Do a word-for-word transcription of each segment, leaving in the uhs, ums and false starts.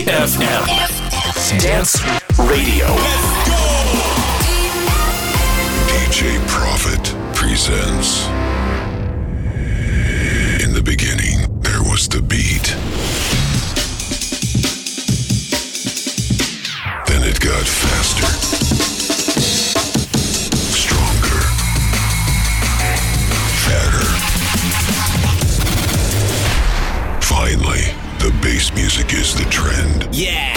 эф эм Dance Radio. ди джей Prophet presents. In the beginning, there was the beat. Then it got faster, stronger, fatter. Finally, the bass music is the trend. Yeah!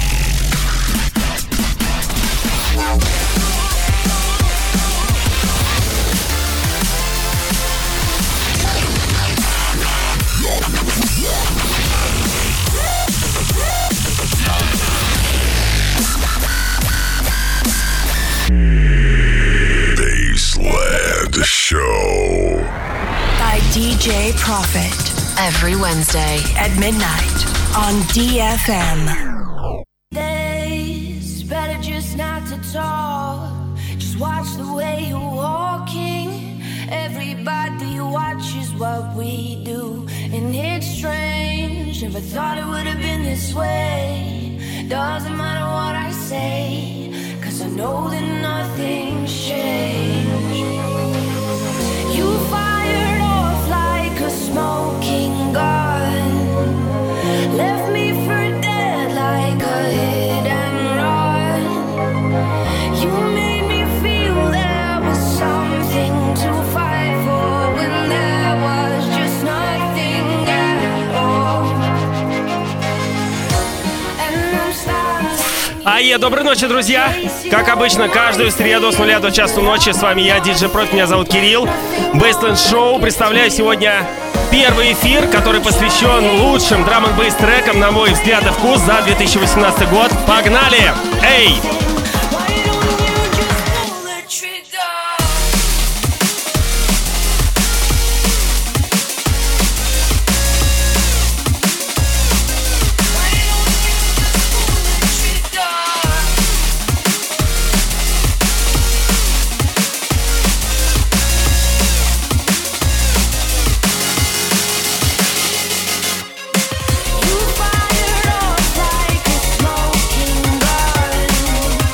Bassland Show by ди джей Prophet every Wednesday at midnight on D F M. It's better just not to talk. Just watch the way you're walking. Everybody watches what we do, and it's strange. Never thought it would have been this way. Doesn't matter what I say, 'cause I know that nothing's changed. You fired off like a smoking gun, left me for dead like a hit and run. You made me feel there was something to fight for when there was just nothing at all. And I'm standing. Ае, доброй ночи, друзья! Как обычно, каждую среду с нуля до часу ночи с вами я, ди джей Prof, меня зовут Кирилл. Bassland Show. Представляю сегодня первый эфир, который посвящен лучшим драм-н-бейс трекам, на мой взгляд и вкус, за две тысячи восемнадцатый год. Погнали! Эй! You fired off like a smoking gun.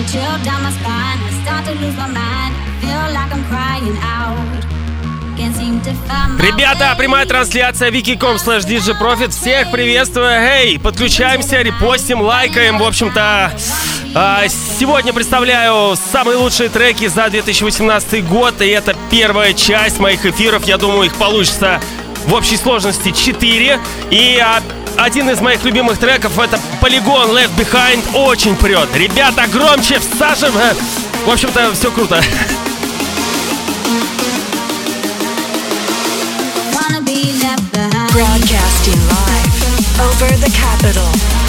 Ребята, прямая трансляция wiki точка com слэш djprofit. Всех приветствую. Эй, подключаемся, репостим, лайкаем. В общем-то, сегодня представляю самые лучшие треки за две тысячи восемнадцатый год. И это первая часть моих эфиров. Я думаю, их получится в общей сложности четыре. И один из моих любимых треков — это Polygon Left Behind. Очень прет. Ребята, громче, всаживаем. В общем-то, все круто. Broadcasting live over the capital.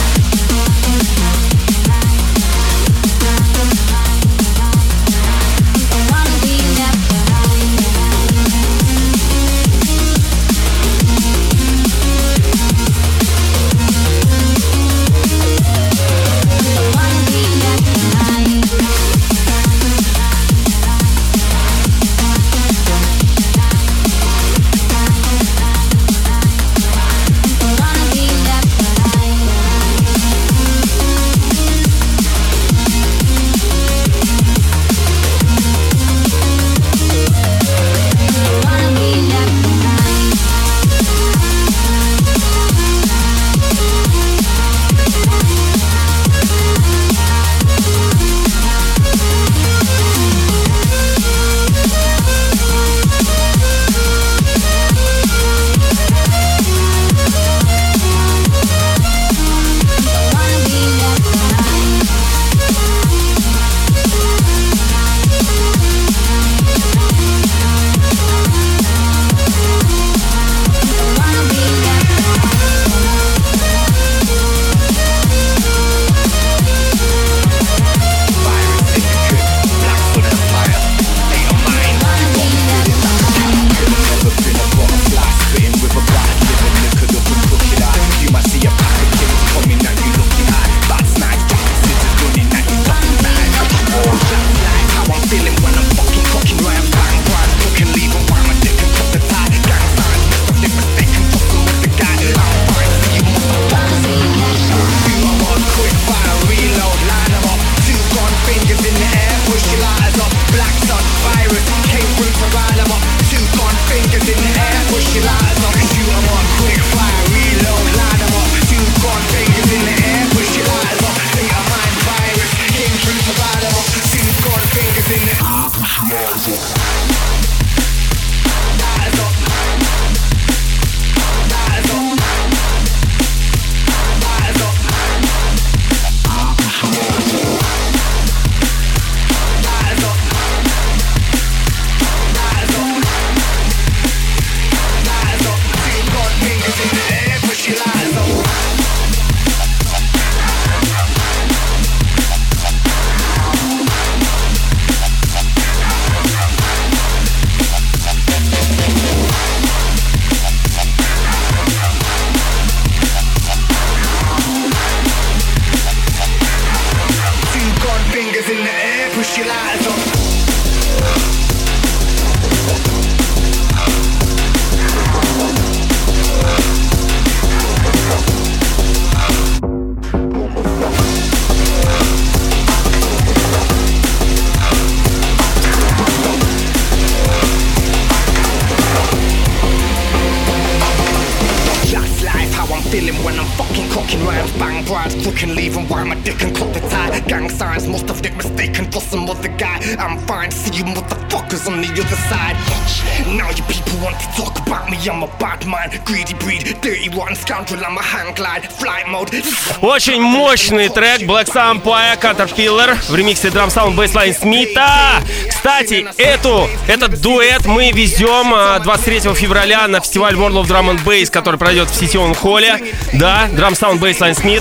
Очень мощный трек Black Empire Caterpillar в ремиксе Drum Sound Bassline Смита. Кстати, эту, этот дуэт мы везем двадцать третьего февраля на фестиваль World of Drum and Bass, который пройдет в сетевом холле. Да, Drum Sound Bassline Smith.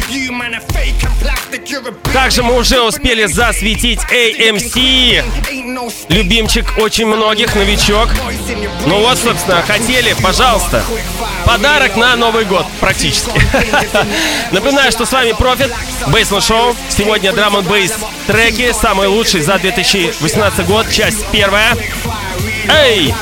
Также мы уже успели засветить эй эм си, любимчик очень многих, новичок. Ну вот, собственно, хотели, пожалуйста, подарок на Новый год практически. Напоминаю, что с вами Profit, Bassline Show. Сегодня Drum and Bass треки, самые лучшие за две тысячи восемнадцатый год, часть первая. Эй!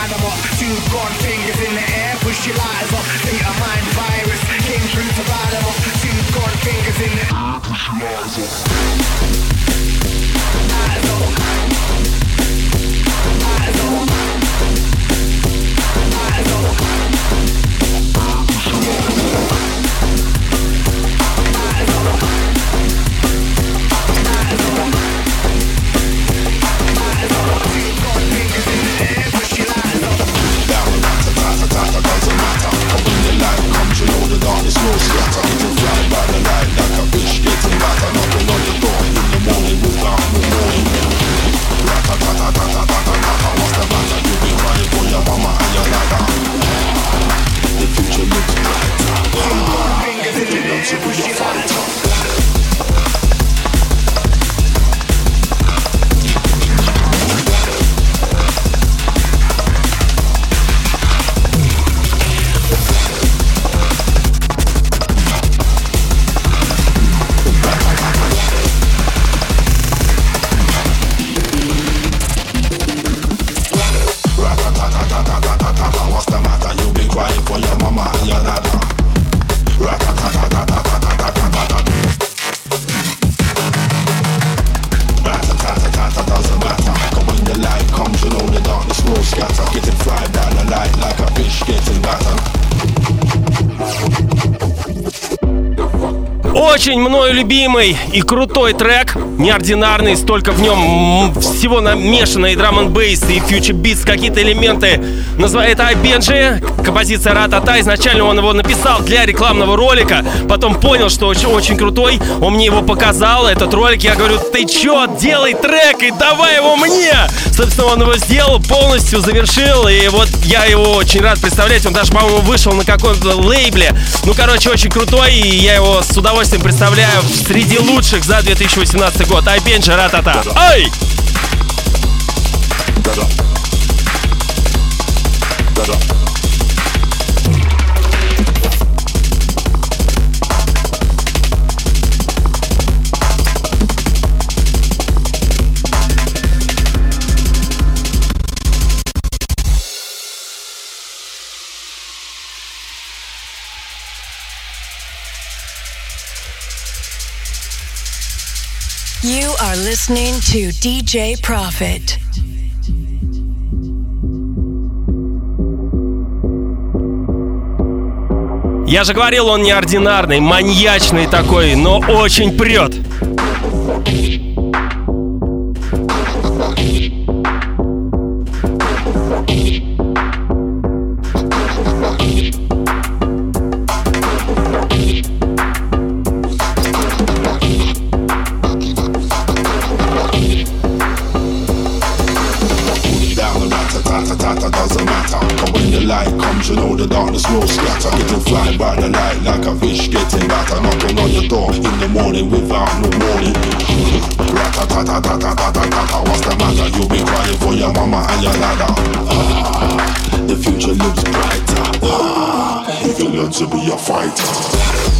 Очень мною любимый и крутой трек, неординарный, столько в нем всего намешано, и драм н бейс, и фьючер битс, какие-то элементы. Называет Ай Бенджи, композиция Ра-та-та. Изначально он его написал для рекламного ролика, потом понял, что очень, очень крутой, он мне его показал, этот ролик, я говорю, ты чё, делай трек и давай его мне! Собственно, он его сделал, полностью завершил, и вот я его очень рад представлять, он даже, по-моему, вышел на каком-то лейбле. Ну, короче, очень крутой, и я его с удовольствием представляю среди лучших за две тысячи восемнадцатый год. Ай Бенджи, Ра-та-та. Ай! You are listening to ди джей Profit. Я же говорил, он неординарный, маньячный такой, но очень прет. You know the darkness will scatter, getting fly by the light like a fish getting batter, knocking on your door in the morning without no warning. Rat-a-tat-a-tat-a-tat-a-tat-a, what's the matter? You'll be crying for your mama and your ladder. Ah, the future looks brighter. Ah, if you learn to be a fighter.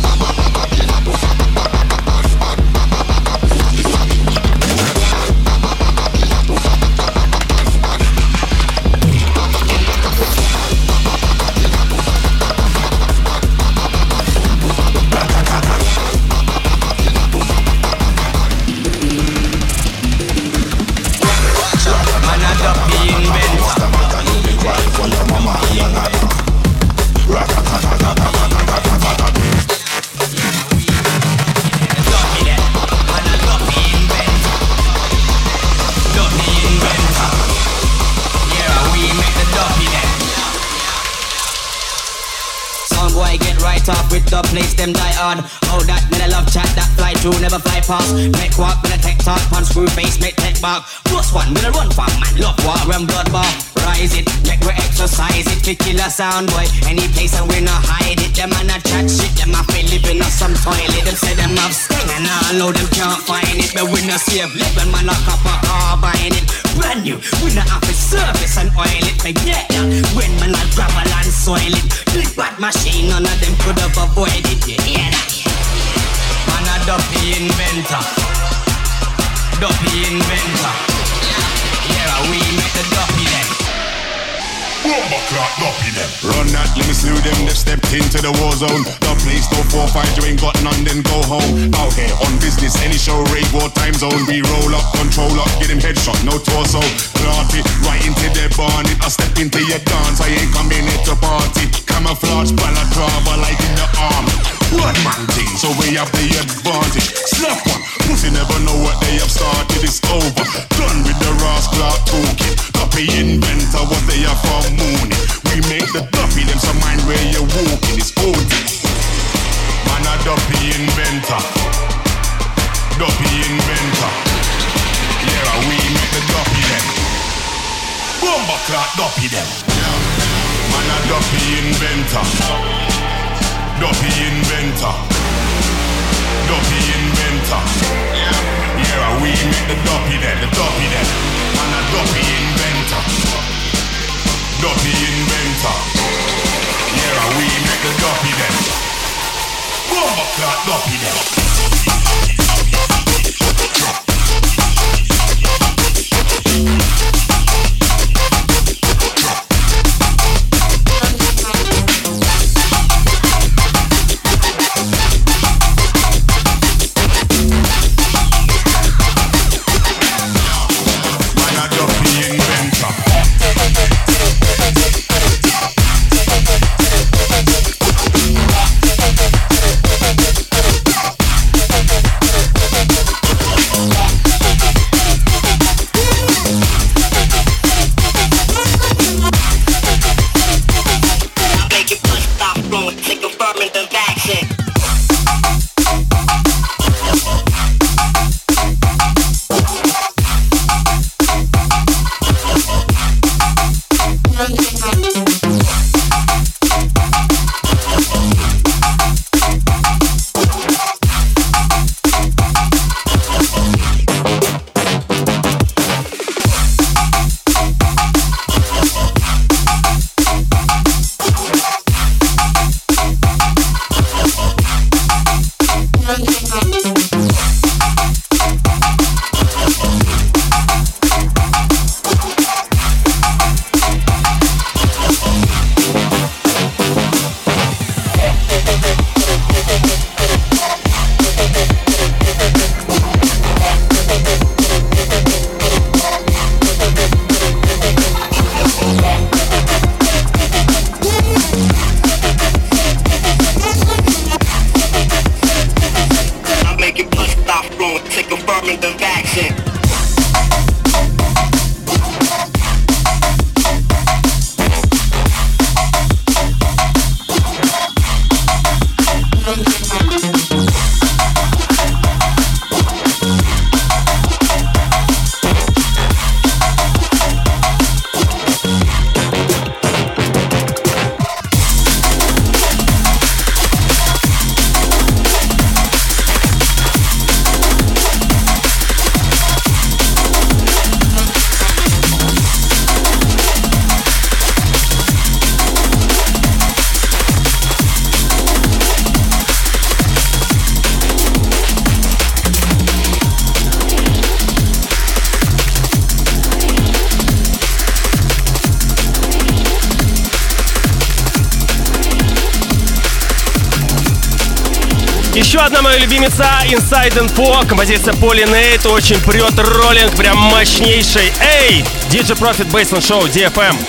Place them die on. Oh, that man I love chat, that fly through, never fly past. Make walk, when I tech talk, punch screw face, make tech bark. Plus one, when I run for man, love war and blood bar. Rise it, make we exercise it, fi kill a sound boy. Any place and we not hide it. Them man a chat shit, them a feel living on some toilet. Them say them have sting and I know them can't find it. But we not save living, man lock up a car buying it. Brand new, we not have to service and oil it. But yeah, when man a gravel and soil it. Big bad machine, none of them could have avoided it. You hear that? Man a dopey inventor. Dopey inventor. Yeah, we make the dopey then. Rumba clock duppy them. Run that, let me slew them. They stepped into the war zone. The place no four five, you ain't got none, then go home. Out here on business, any show, rave or time zone. We roll up, control up, get him headshot, no torso. Plant it right into their barnet. I step into your dance, I ain't coming here to party. Camouflage, balaclava, like in the arm. One man thing, so we have the advantage. Slap one, pussy never know what they have started. It's over, done with the rascal talking. Duppy inventor, what they have for mooning. We make the duppy, them some mind where you're walking. It's old. Man a duppy inventor. Duppy inventor. Yeah, we make the duppy them. Bomba clock duppy them. Man a duppy inventor. Duppy inventor. Duppy inventor. Yeah, we make the duppy them. The duppy them. Man a duppy inventor. Duppy inventor. Yeah, we make the duppy them. Bomba clock duppy them. Еще одна моя любимица, Inside Info, композиция Polynate, очень прет роллинг, прям мощнейший. Эй, ди джей Profit Baseline Show, ди эф эм.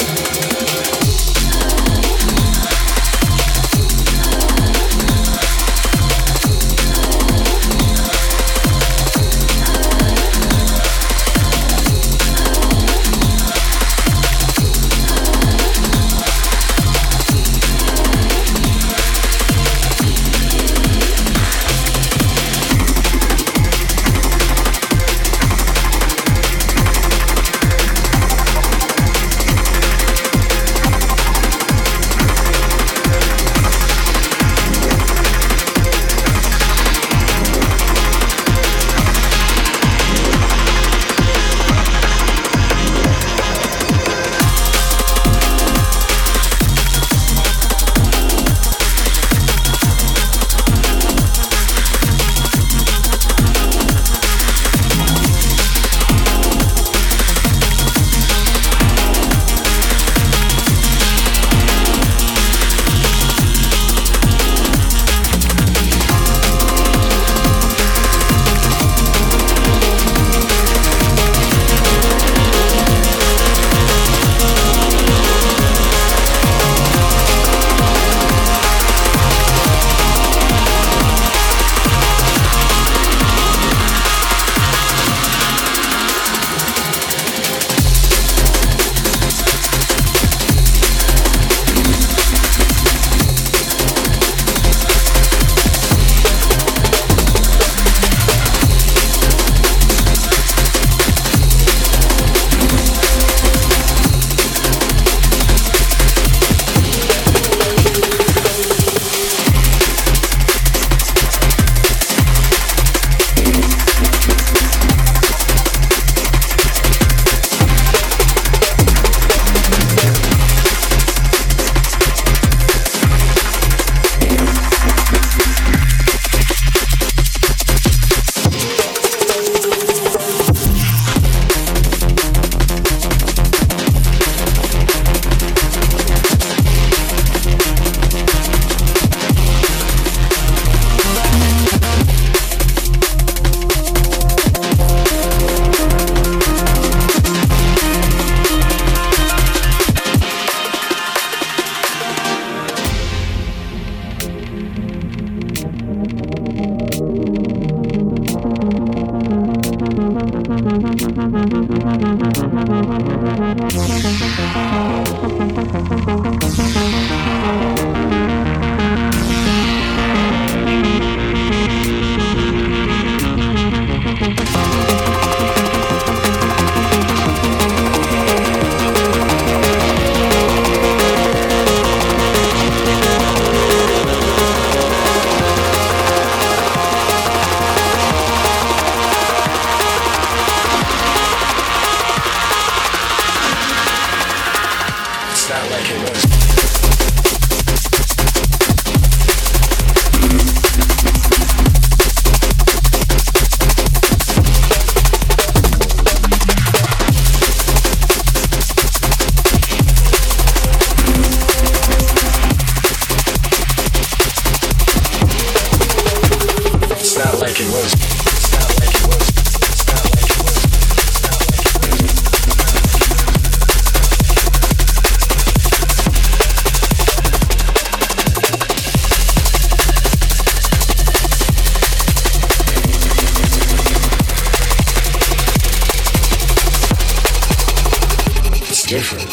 Different.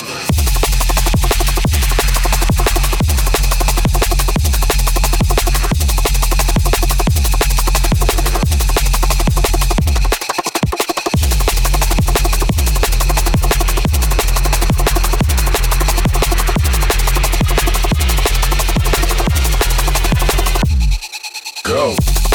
Go.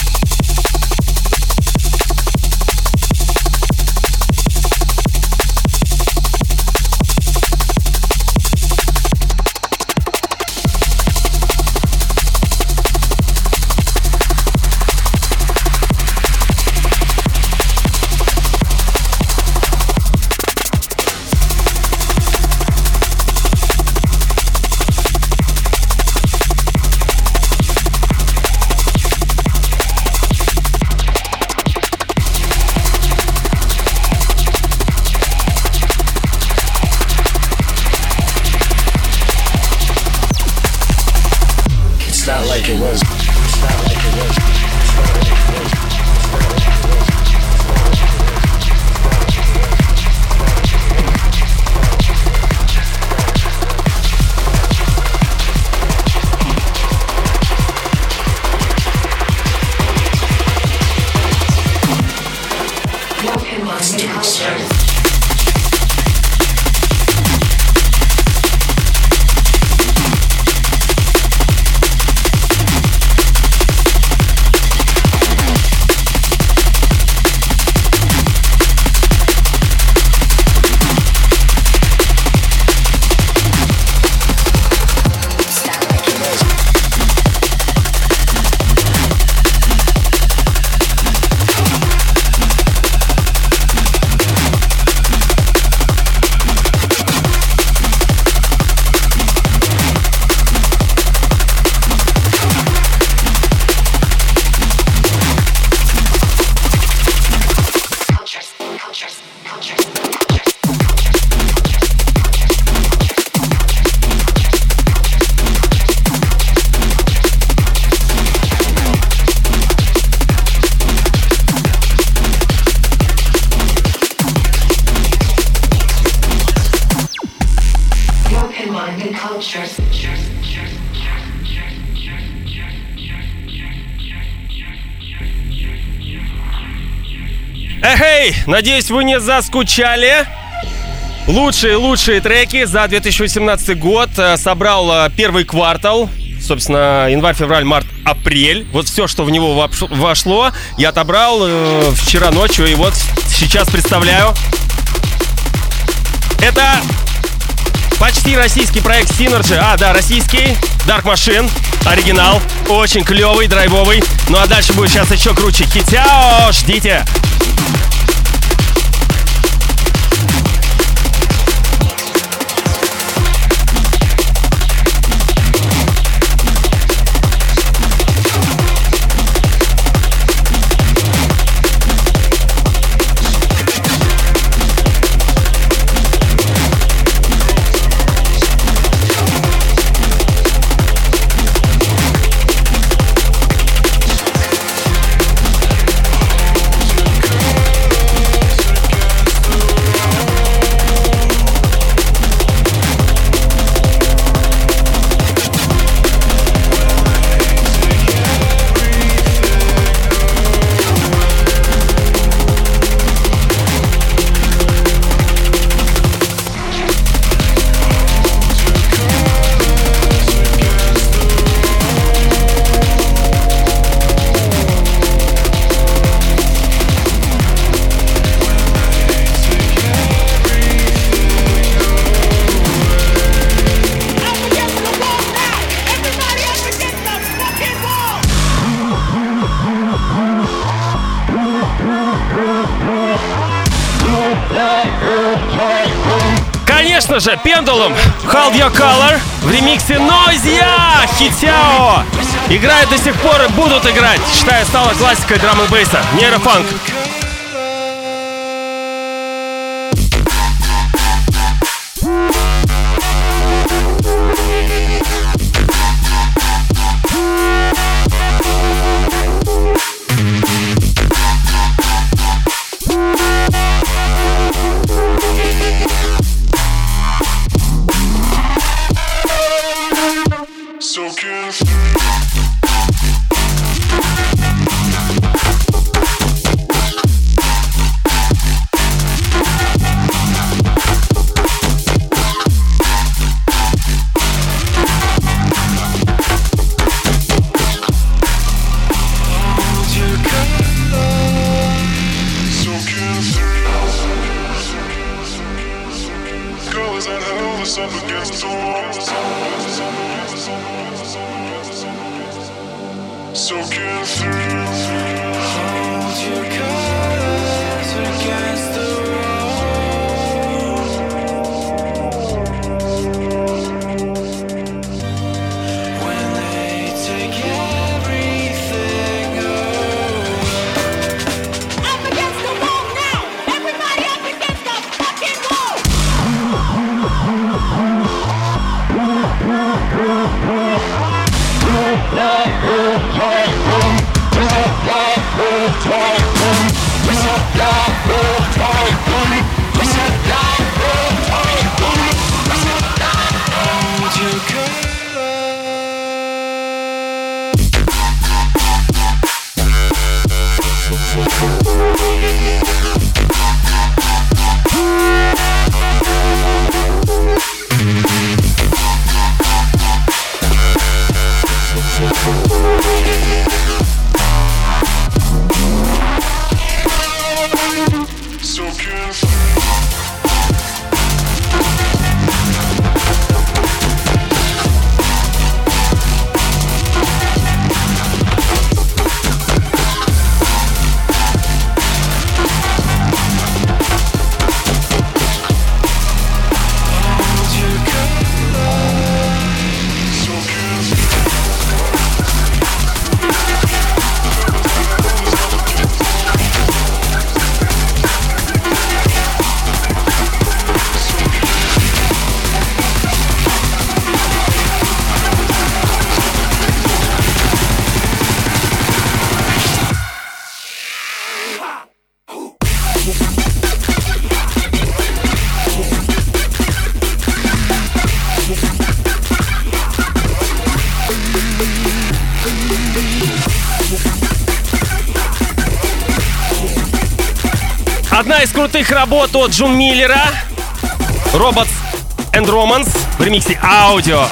Эхей, надеюсь, вы не заскучали. Лучшие-лучшие треки за две тысячи восемнадцатый год собрал первый квартал. Собственно, январь, февраль, март, апрель. Вот все, что в него вошло, я отобрал э, вчера ночью. И вот сейчас представляю. Это почти российский проект Synergy. А, да, российский. Dark Machine. Оригинал. Очень клевый, драйвовый. Ну а дальше будет сейчас еще круче. Хитяо, ждите. Конечно же, Pendulum, Hold Your Color в ремиксе Noisia, Хитяо. Играют до сих пор и будут играть. Считаю, стала классикой драм н бейса. Нейрофанк. Одна из крутых работ от Джун Миллера, Robots and Romance в ремиксе аудио.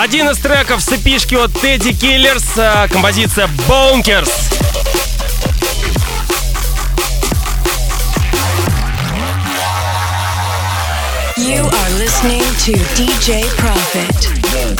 Один из треков с эпишки от Teddy Killers, композиция Bonkers. You are listening to ди джей Profit.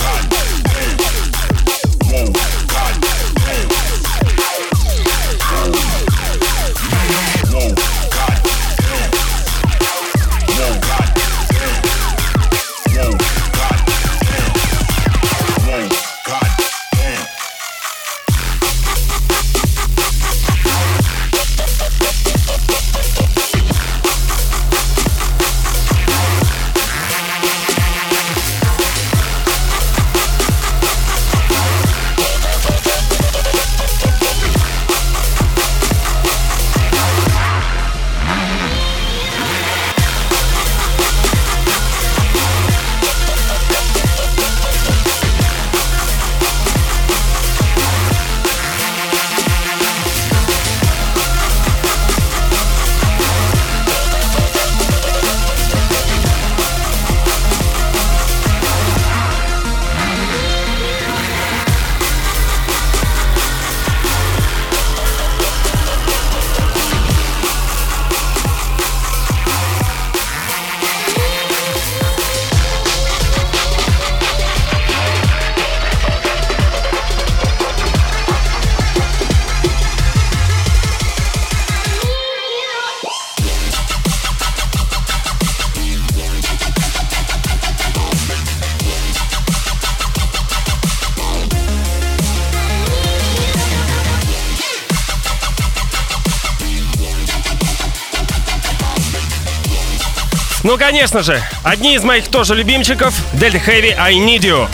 Ну, конечно же, одни из моих тоже любимчиков — Delta Heavy I Need You.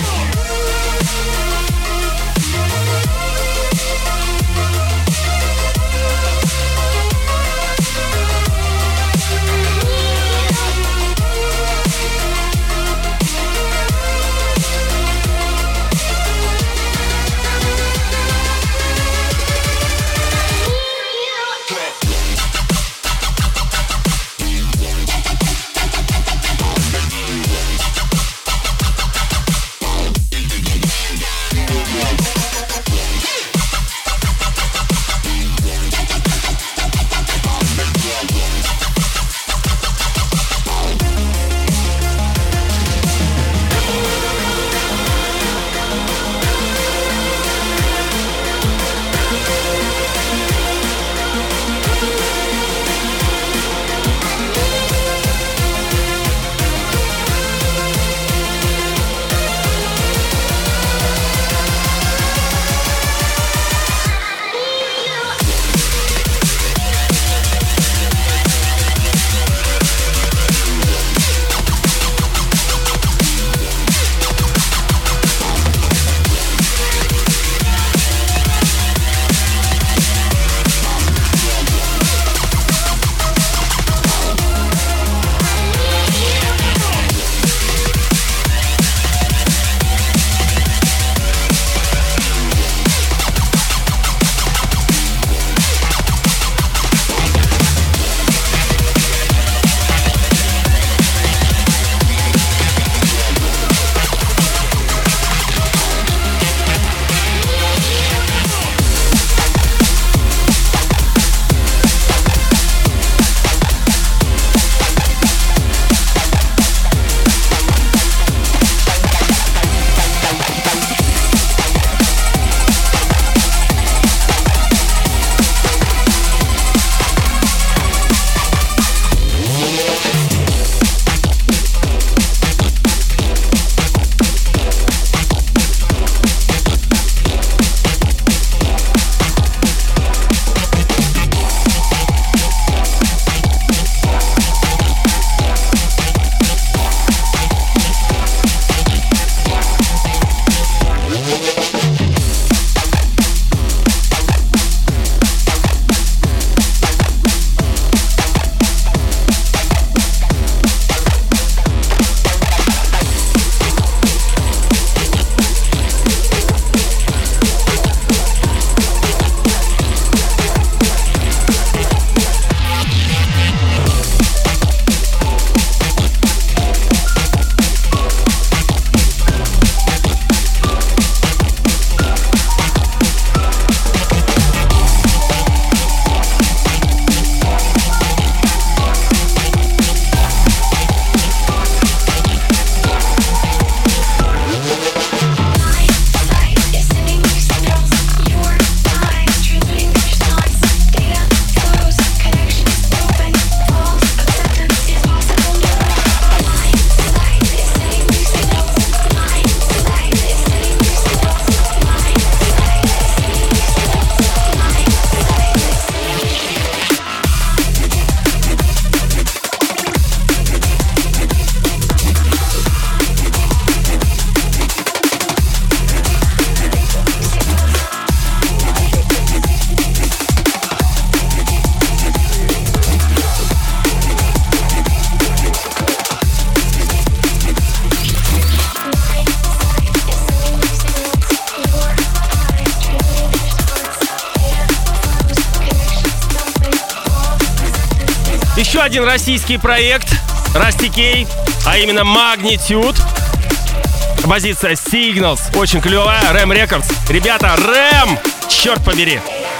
еще один российский проект Rusty K, а именно Magnitude. Композиция Signals, очень клевая, Рэм Records. Ребята, Рэм, черт побери.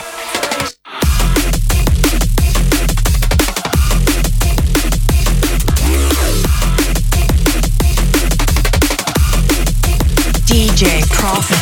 ди джей Profit.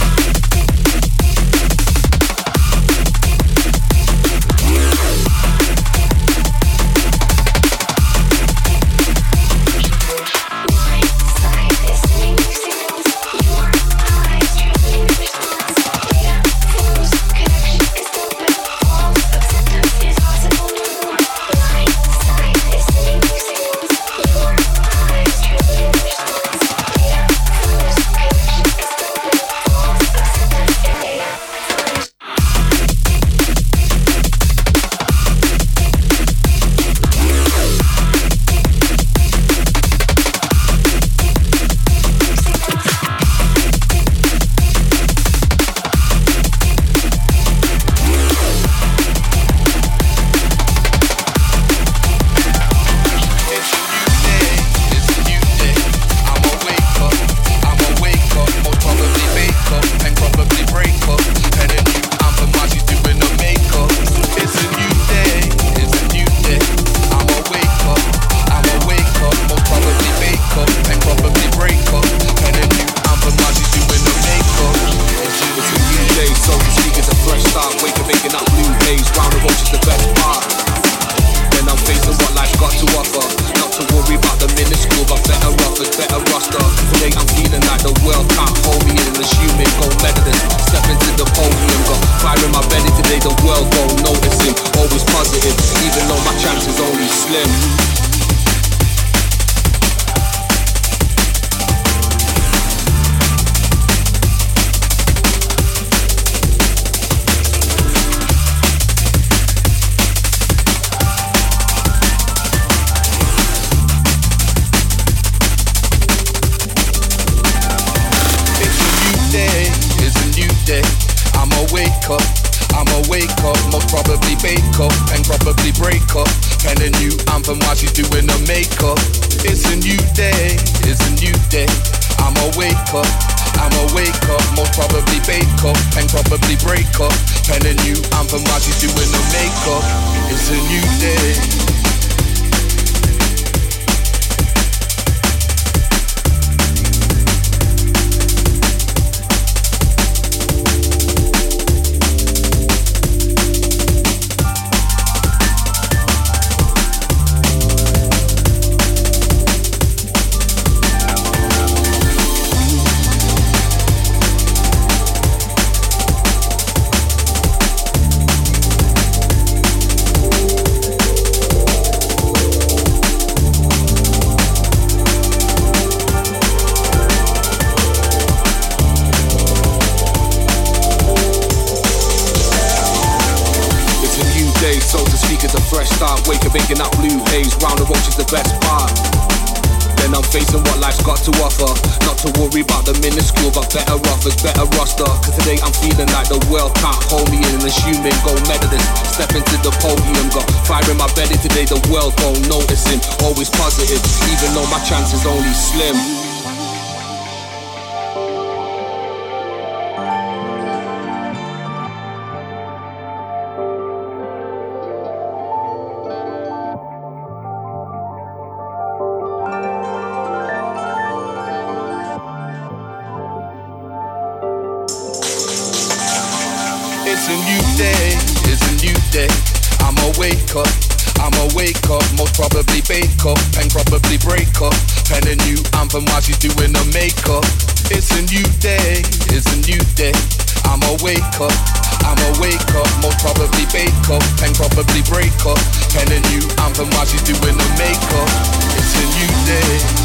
It's a new day, it's a new day. I'ma wake up, I'ma wake up, most probably bake up and probably break up. And a new anthem while she's doing her makeup. It's a new day, it's a new day. I'ma wake up, I'ma wake up, most probably bake up and probably break up. And a new anthem while she's doing her makeup. It's a new day.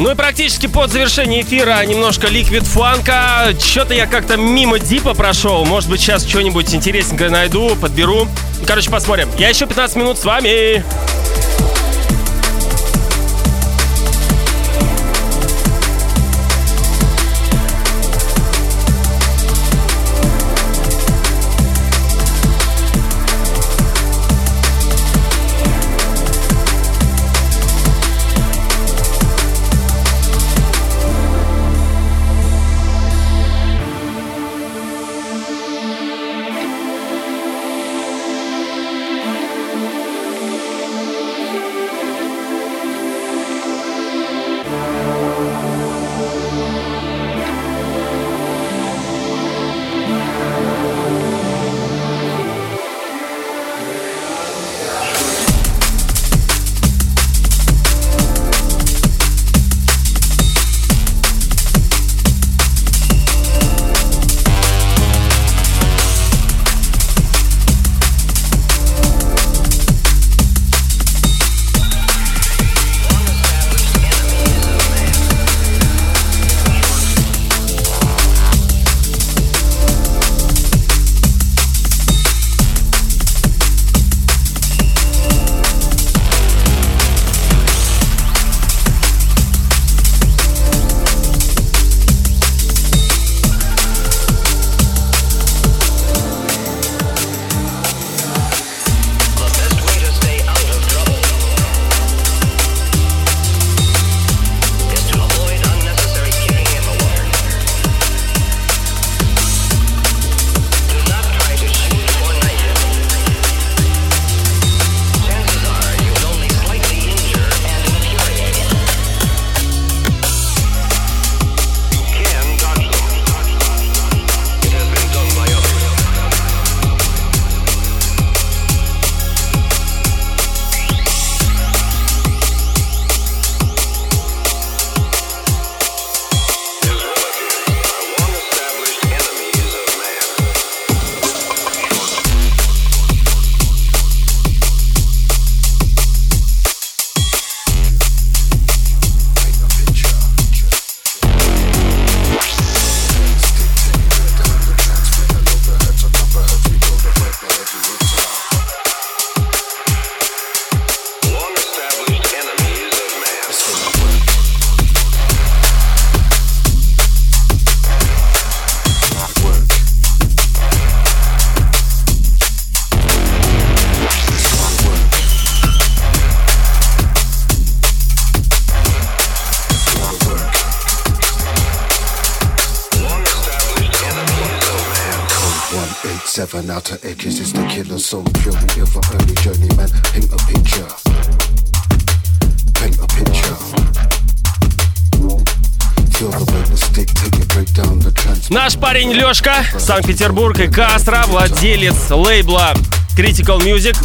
Ну и практически под завершение эфира немножко ликвид фанка. Что-то я как-то мимо дипа прошел. Может быть, сейчас что-нибудь интересненькое найду, подберу. Короче, посмотрим. Я еще пятнадцать минут с вами. Seven outer edges is the killer soul. Pure and ill for early journeyman. Paint a picture. Paint a picture. Feel the way the stick take it break down the trans. Наш парень Лёшка, Санкт-Петербург и Кастро, владелец лейбла Critical Music.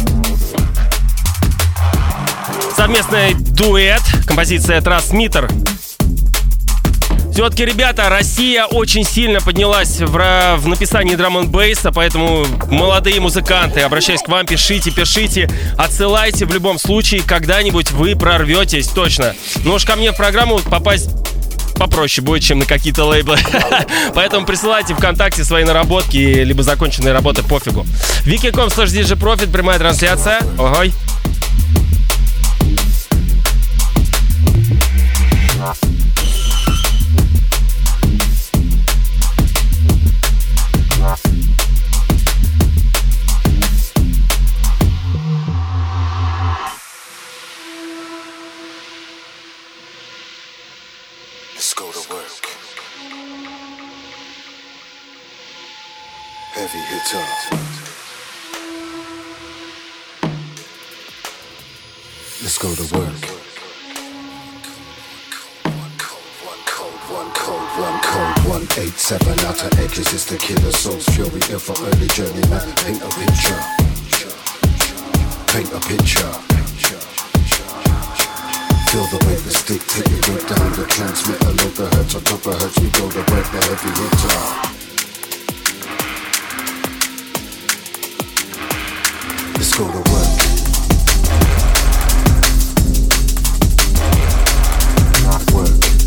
Совместный дуэт, композиция Transmitter. Все-таки, ребята, Россия очень сильно поднялась в, в написании драм-н-бейса, поэтому молодые музыканты, обращаюсь к вам, пишите, пишите, отсылайте, в любом случае, когда-нибудь вы прорветесь, точно. Ну уж ко мне в программу попасть попроще будет, чем на какие-то лейблы. Поэтому присылайте ВКонтакте свои наработки, либо законченные работы, пофигу. вики точка ком слэш ди джей профит, прямая трансляция. Ой. Let's go to work. Heavy hitter. Let's go to work. One code, one code, one code, one eight seven outer edges is the killer soul's fury. If for early journeyman, paint a picture. Paint a picture. Feel the weight the stick, take it right down the transmitter. Load the hertz on top of hertz, we go to work, the heavy hitter. Let's go to work. Work.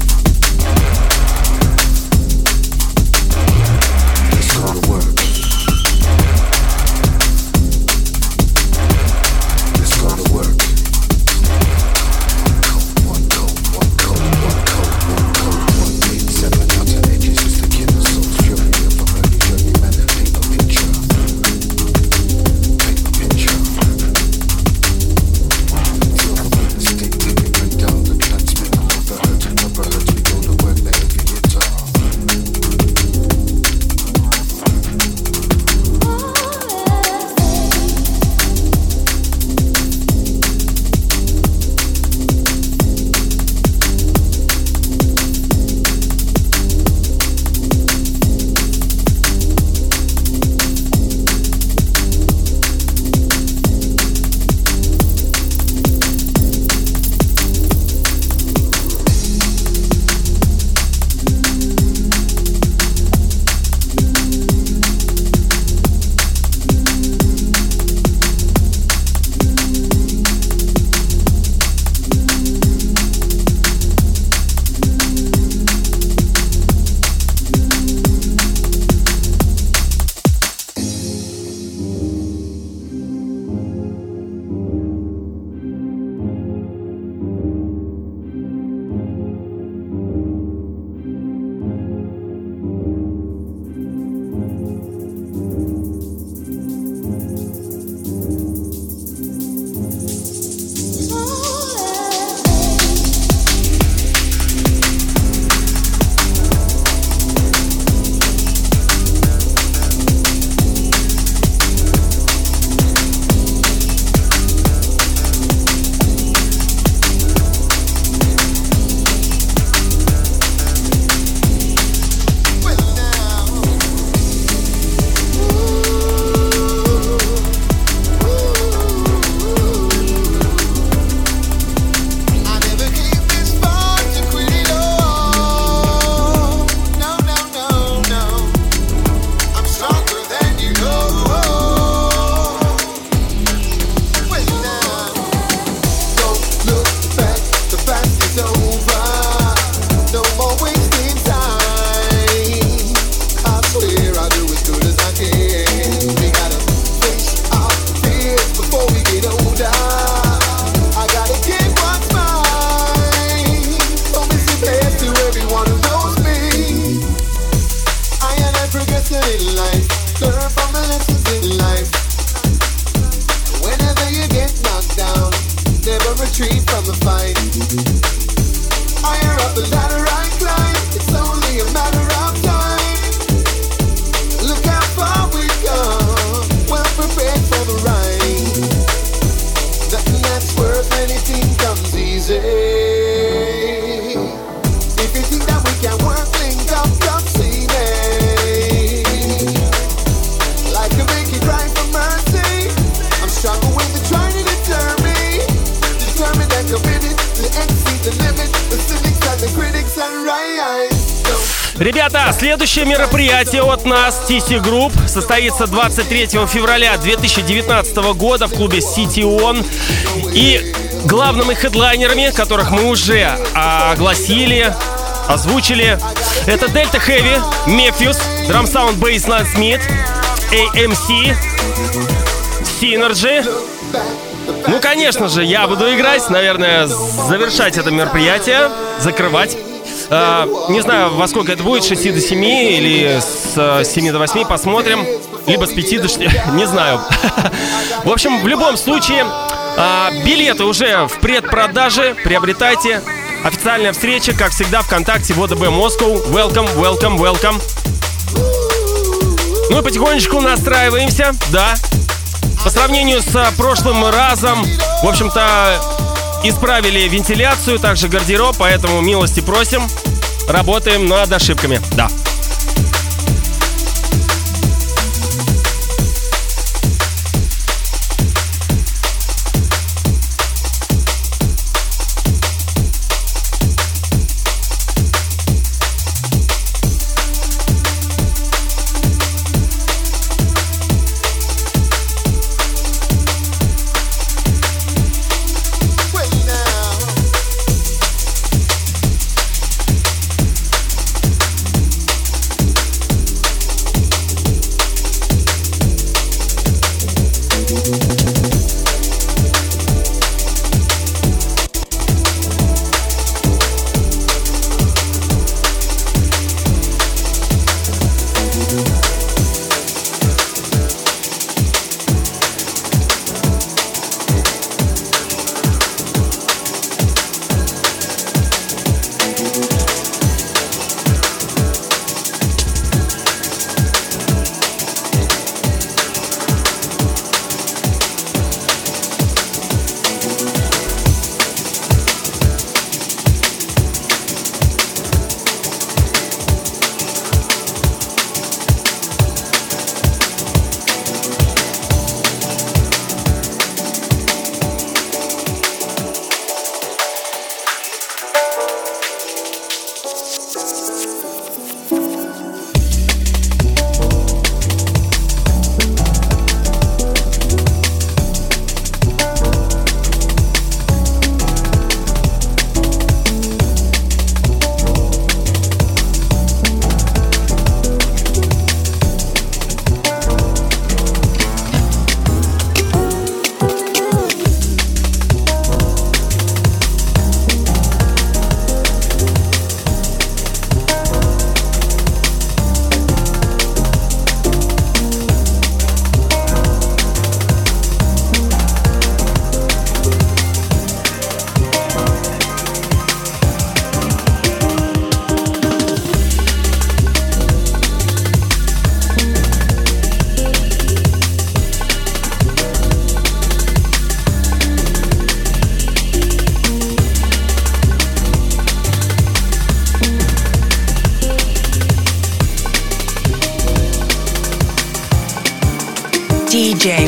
Ребята, следующее мероприятие от нас, ти си Group, состоится двадцать третьего февраля две тысячи девятнадцатого года в клубе City On. И главными хедлайнерами, которых мы уже огласили, озвучили, это Delta Heavy, Mefjus, Drum Sound Bassline Smith, эй эм си, Synergy. Ну, конечно же, я буду играть, наверное, завершать это мероприятие, закрывать. Uh, не знаю, во сколько это будет, с шести до семи или с семи до восьми, посмотрим. Либо с пяти до шести, не знаю. В общем, в любом случае, uh, билеты уже в предпродаже, приобретайте. Официальная встреча, как всегда, ВКонтакте, ВОДБ Москва. Welcome, welcome, welcome. Ну и потихонечку настраиваемся, да. По сравнению с прошлым разом, в общем-то, исправили вентиляцию, также гардероб, поэтому милости просим. Работаем над ошибками, да. ди джей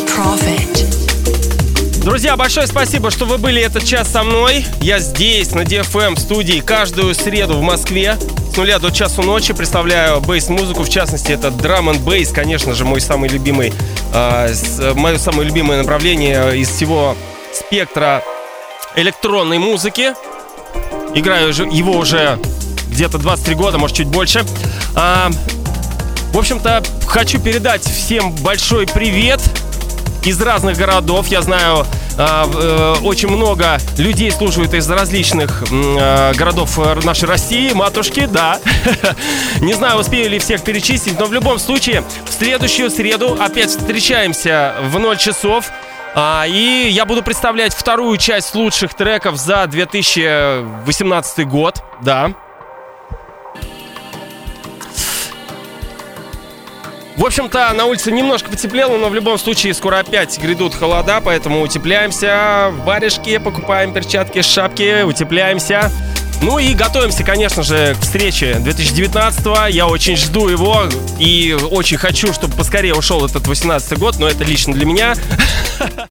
Profit. Друзья, большое спасибо, что вы были этот час со мной. Я здесь, на ди эф эм студии, каждую среду в Москве с нуля до часу ночи представляю бейс-музыку. В частности, это драм энд бейс, конечно же, мой самый любимый, э, мое самое любимое направление из всего спектра электронной музыки. Играю его уже где-то двадцать три года, может, чуть больше. А, в общем-то, хочу передать всем большой привет из разных городов. Я знаю, а, э, очень много людей слушают из различных э, городов нашей России, матушки, да. Не знаю, успею ли всех перечислить, но в любом случае, в следующую среду опять встречаемся в ноль часов. А, и я буду представлять вторую часть лучших треков за две тысячи восемнадцатый год, да. В общем-то, на улице немножко потеплело, но в любом случае скоро опять грядут холода, поэтому утепляемся, варежки, покупаем перчатки, шапки, утепляемся. Ну и готовимся, конечно же, к встрече две тысячи девятнадцатого. Я очень жду его и очень хочу, чтобы поскорее ушел этот восемнадцатый год, но это лично для меня.